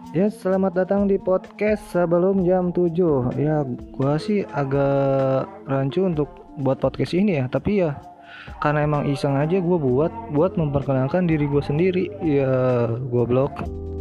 Ya, selamat datang di podcast sebelum jam 7. Ya, gua sih agak rancu untuk buat podcast ini ya, tapi ya karena emang iseng aja gua buat memperkenalkan diri gua sendiri. Ya, gua blog.